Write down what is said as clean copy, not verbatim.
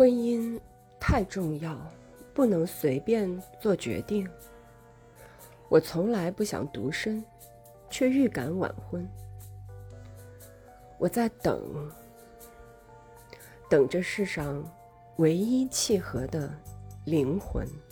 婚姻太重要，不能随便做决定。我从来不想独身，却预感晚婚。我在等着世上唯一契合的灵魂。